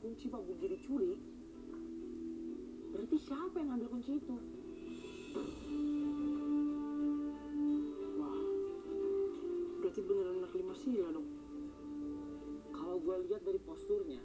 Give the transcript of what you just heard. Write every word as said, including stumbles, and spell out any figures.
kunci Pak Budi dicuri, berarti siapa yang ngambil kunci itu? Wah, berarti beneran anak lima sila dong. Kalau gue lihat dari posturnya,